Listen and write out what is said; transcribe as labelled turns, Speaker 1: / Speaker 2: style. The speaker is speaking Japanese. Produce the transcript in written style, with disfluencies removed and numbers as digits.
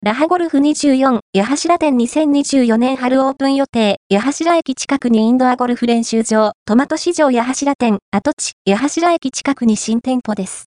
Speaker 1: ラハゴルフ24、八柱店2024年春オープン予定、八柱駅近くにインドアゴルフ練習場、トマト市場八柱店、跡地、八柱駅近くに新店舗です。